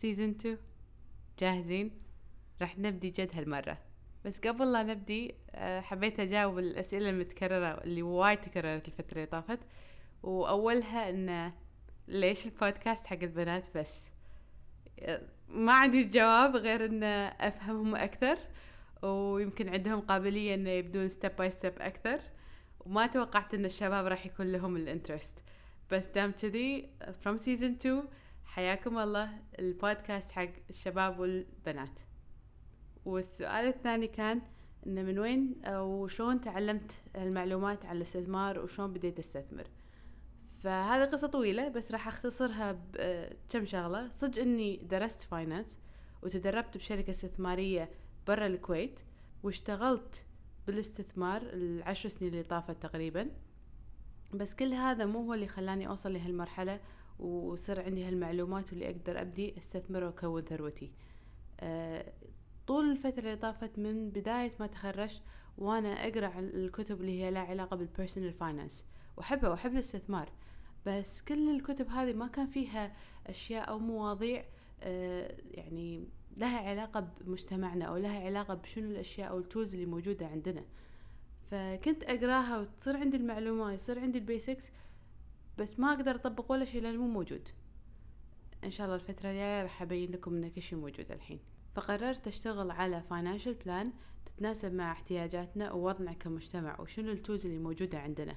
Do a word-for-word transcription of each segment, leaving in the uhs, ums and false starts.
سيزن تو جاهزين؟ راح نبدي جد هالمرة. بس قبل لا نبدي آه، حبيت أجاوب الأسئلة المتكررة اللي وايد تكررت الفترة اللي طافت. وأولها إن ليش البودكاست حق البنات بس؟ آه، ما عندي جواب غير إن أفهمهم أكثر، ويمكن عندهم قابلية إنه يبدون ستيب باي ستيب أكثر، وما توقعت إن الشباب راح يكون لهم الانترست. بس دام كذي from season two، حياكم الله البودكاست حق الشباب والبنات. والسؤال الثاني كان إن من وين أو شلون تعلمت المعلومات عن الاستثمار وشلون بديت استثمر. فهذه قصة طويلة بس راح أختصرها بكم شغلة. صدق إني درست فاينانس وتدربت بشركة استثمارية برا الكويت، واشتغلت بالاستثمار العشر سنين اللي طافت تقريبا. بس كل هذا مو هو اللي خلاني أوصل لهالمرحلة وصير عندي هالمعلومات واللي أقدر أبدي استثمر وأكون ثروتي. أه طول الفترة اللي طافت من بداية ما تخرجت وأنا أقرأ عن الكتب اللي هي لها علاقة بالبيرسونال فاينانس، وأحبها وأحب الاستثمار. بس كل الكتب هذه ما كان فيها أشياء أو مواضيع أه يعني لها علاقة بمجتمعنا أو لها علاقة بشنو الأشياء أو التولز اللي موجودة عندنا. فكنت أقراها وتصير عندي المعلومة، يصير عندي البيسكس، بس ما أقدر أطبق ولا شيء لأنه مو موجود. إن شاء الله الفترة الجاية راح أبين لكم إن كل شيء موجود الحين. فقررت أشتغل على financial plan تتناسب مع احتياجاتنا ووضعنا كمجتمع وشنو التولز اللي موجودة عندنا.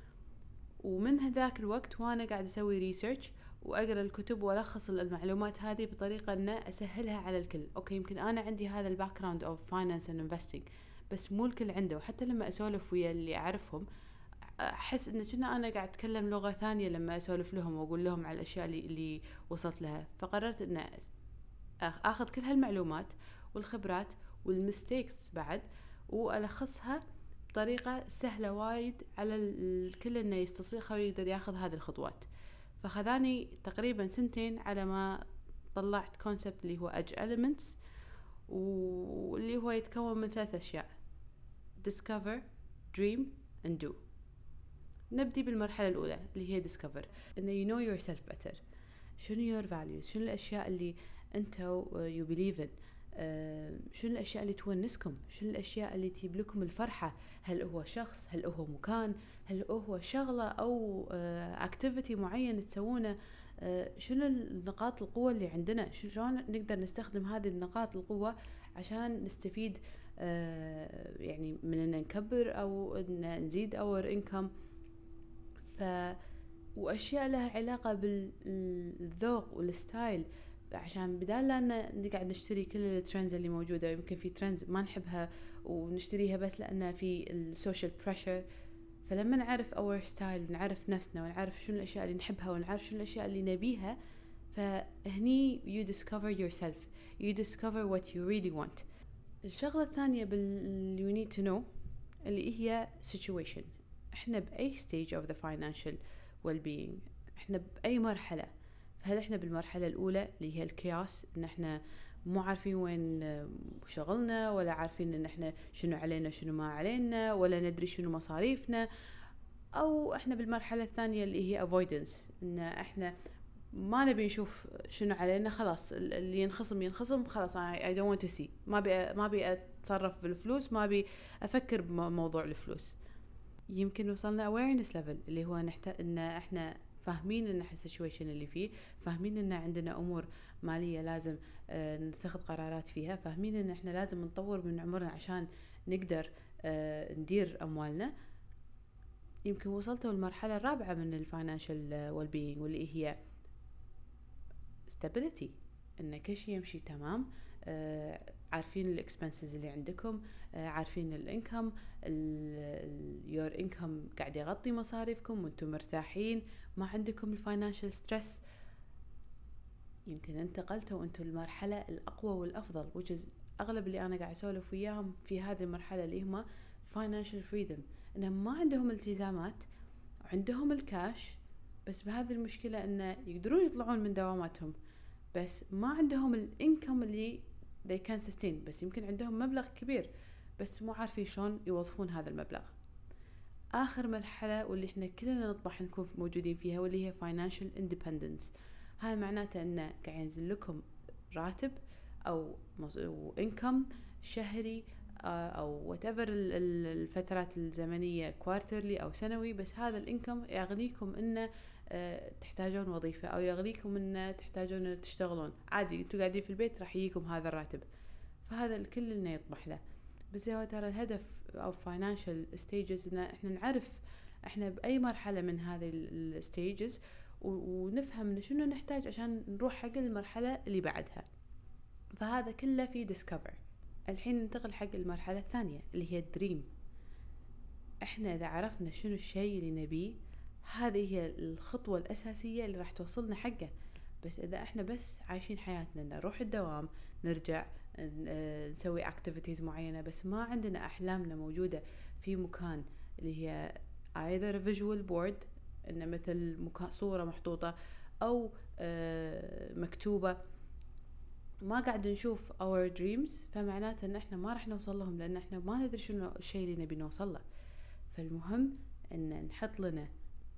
ومن هذاك الوقت وأنا قاعد أسوي ريسيرش وأقرأ الكتب وألخص المعلومات هذه بطريقة أن أسهلها على الكل. أوكي، يمكن أنا عندي هذا الباك جراوند أوف فاينانس اند انفستنج، بس مو الكل عنده. وحتى لما أسولف ويا اللي أعرفهم أحس إن كنا أنا قاعد أتكلم لغة ثانية لما أسولف لهم وأقول لهم على الأشياء اللي, اللي وصلت لها. فقررت إن أخذ كل هالمعلومات والخبرات والمستيكس بعد وألخصها بطريقة سهلة وايد على الكل إنه يستصيغها ويقدر ياخذ هذه الخطوات. فخذاني تقريبا سنتين على ما طلعت كونسبت اللي هو Edge Elements، واللي هو يتكون من ثلاث أشياء: Discover, Dream and Do. نبدي بالمرحلة الأولى اللي هي Discover، إنه you know yourself better. شنو your values؟ شنو الأشياء اللي أنتوا you believe in؟ أه شنو الأشياء اللي تونسكم؟ شنو الأشياء اللي تجيب لكم الفرحة؟ هل هو شخص؟ هل هو مكان؟ هل هو شغلة أو أه activity معين تسوونه؟ أه شنو النقاط القوة اللي عندنا؟ شلون نقدر نستخدم هذه النقاط القوة عشان نستفيد أه يعني من أن نكبر أو أن نزيد our income. ف وأشياء لها علاقة بالذوق والستايل، عشان بدال لا نقعد نشتري كل الترندز اللي موجودة، يمكن في ترندز ما نحبها ونشتريها بس لأن في السوشيال بريشر. فلما نعرف اور ستايل ونعرف نفسنا ونعرف شنو الأشياء اللي نحبها ونعرف شنو الأشياء اللي نبيها، فهني you discover yourself, you discover what you really want. الشغلة الثانية بال you need to know اللي هي situation. احنا بأي stage of the financial well-being، احنا بأي مرحلة. فهل احنا بالمرحلة الأولى اللي هي الكياس، ان احنا مو عارفين وين شغلنا، ولا عارفين ان احنا شنو علينا شنو ما علينا، ولا ندري شنو مصاريفنا؟ او احنا بالمرحلة الثانية اللي هي avoidance، ان احنا ما نبي نشوف شنو علينا، خلاص اللي ينخصم ينخصم، خلاص I don't want to see، ما بي ما بي اتصرف بالفلوس، ما بي افكر بموضوع الفلوس. يمكن وصلنا awareness level اللي هو نحتاج ان احنا فاهمين ان السيتويشن اللي فيه، فاهمين ان عندنا امور ماليه لازم اه نتخذ قرارات فيها، فاهمين ان احنا لازم نطور من عمرنا عشان نقدر اه ندير اموالنا. يمكن وصلتوا للمرحله الرابعه من الفاينانشال ويل بينج واللي هي stability، ان كل شيء يمشي تمام. آه عارفين الاكسبنسز اللي عندكم، آه عارفين الانكم، your income قاعد يغطي مصاريفكم وانتم مرتاحين، ما عندكم الفاينانشال ستريس. يمكن انتقلتوا وانتم المرحلة الأقوى والأفضل، which is أغلب اللي أنا قاعد أسولف وياهم في هذه المرحلة اللي هما financial freedom، إنهم ما عندهم التزامات وعندهم الكاش. بس بهذه المشكلة إنه يقدرون يطلعون من دواماتهم، بس ما عندهم الانكم اللي they can sustain. بس يمكن عندهم مبلغ كبير بس مو عارفين شلون يوظفون هذا المبلغ. آخر مرحلة واللي احنا كلنا نطمح نكون موجودين فيها واللي هي financial independence. هاي معناته إنه قاعد ينزل لكم راتب أو إنكم شهري أو whatever الفترات الزمنية كوارترلي أو سنوي، بس هذا الإنكم يغنيكم إنه تحتاجون وظيفة أو يغنيكم إنه تحتاجون تشتغلون عادي، أنتوا قاعدين في البيت راح يجيكم هذا الراتب. فهذا الكل إنه يطمح له. بس هو ترى الهدف أو financial stages إن إحنا نعرف إحنا بأي مرحلة من هذه الستيجز ونفهم إن شنو نحتاج عشان نروح حق المرحلة اللي بعدها. فهذا كله في discover. الحين ننتقل حق المرحلة الثانية اللي هي الدريم. إحنا إذا عرفنا شنو الشيء اللي نبيه، هذه هي الخطوة الأساسية اللي راح توصلنا حقه. بس إذا إحنا بس عايشين حياتنا نروح الدوام نرجع نسوي activities معينة، بس ما عندنا أحلامنا موجودة في مكان اللي هي either a visual board إنه مثل مكان صورة محطوطة أو مكتوبة، ما قاعد نشوف our dreams، فمعناته إن إحنا ما راح نوصل لهم، لأن إحنا ما ندري شنو الشيء اللي نبي نوصل له. فالمهم إن نحط لنا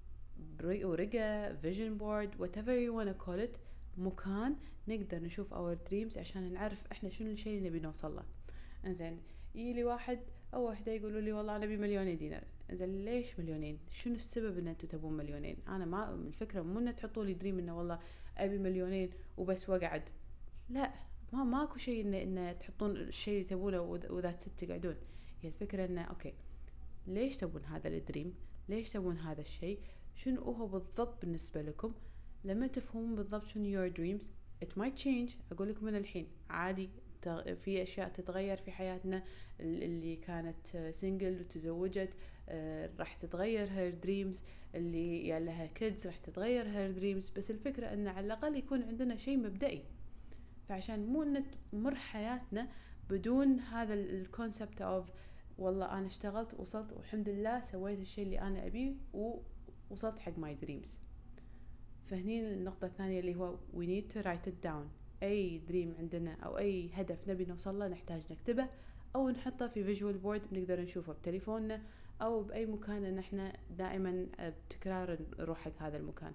ورقة vision board whatever you wanna call it، مكان نقدر نشوف our dreams عشان نعرف إحنا شنو الشيء اللي نبي نوصل له. إنزين يجي واحد أو واحدة يقولوا لي والله أنا أبي مليونين دينار. إنزين ليش مليونين؟ شنو السبب إن أنتوا تبون مليونين؟ أنا ما الفكرة مو إن تحطوا لي دريم إنه والله أبي مليونين وبس وقعد. لا، ما ماكو شيء إن إن تحطون الشيء اللي تبونه وذا ست تقعدون. هي الفكرة إنه أوكي ليش تبون هذا الدريم؟ ليش تبون هذا الشيء؟ شنو هو بالضبط بالنسبة لكم؟ لما تفهمون بالضبط شنو your dreams it might change. أقول لكم من الحين عادي في أشياء تتغير في حياتنا. اللي كانت سينجل وتزوجت راح تتغير her dreams، اللي يا لها kids راح تتغير her dreams. بس الفكرة أن على الأقل يكون عندنا شيء مبدئي، فعشان مو نمر حياتنا بدون هذا الكونسبت of والله أنا اشتغلت وصلت والحمد لله سويت الشيء اللي أنا أبيه ووصلت حق my dreams. فهني النقطة الثانية اللي هو we need to write it down. أي دريم عندنا أو أي هدف نبي نوصل له نحتاج نكتبه أو نحطه في visual board بنقدر نشوفه بتليفوننا أو بأي مكان نحن دائما بتكرار نروح حق هذا المكان.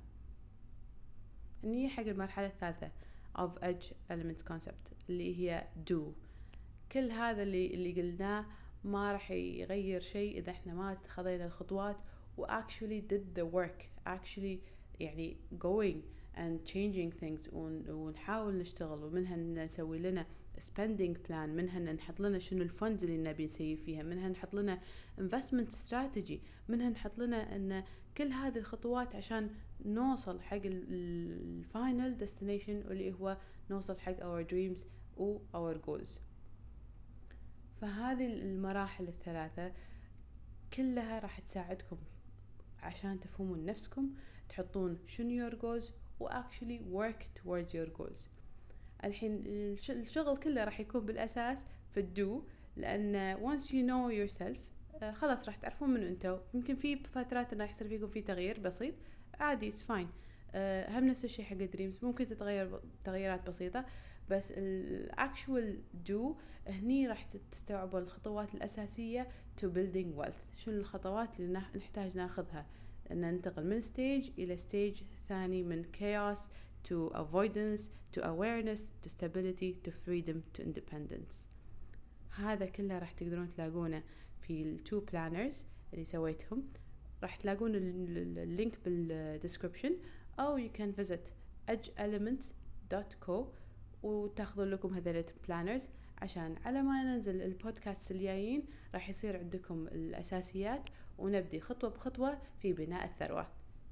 هني حق المرحلة الثالثة of edge elements concept اللي هي do. كل هذا اللي اللي قلناه ما راح يغير شيء إذا إحنا ما خذينا الخطوات و actually did the work actually يعني going and changing things ونحاول نشتغل، ومنها نسوي لنا spending plan، منها نحط لنا شنو الفندز اللي نبي نسوي فيها، منها نحط لنا investment strategy، منها نحط لنا أن كل هذه الخطوات عشان نوصل حق ال final destination اللي هو نوصل حق our dreams و our goals. فهذه المراحل الثلاثة كلها راح تساعدكم عشان تفهمون نفسكم، تحطون شنو your goals و actually work towards your goals. الحين الشغل كله راح يكون بالأساس في الدو، لأن once you know yourself آه خلاص راح تعرفون من أنتوا. يمكن في فترات راح يصير فيكم في تغيير بسيط عادي it's fine. آه هم نفس الشيء حق الدريمز ممكن تتغير تغييرات بسيطة، بس الأكشوال دو هني راح تستوعبون الخطوات الأساسية to building wealth. شنو الخطوات اللي نحتاج ناخذها أن ننتقل من stage إلى stage ثاني، من chaos to avoidance to awareness to stability to freedom to independence. هذا كله راح تقدرون تلاقونه في التو planners اللي سويتهم. راح تلاقون اللينك بالديسكريبشن أو you can visit edge elements dot co وتاخذون لكم هذول planners عشان على ما ننزل البودكاست الجايين راح يصير عندكم الأساسيات ونبدي خطوة بخطوة في بناء الثروة.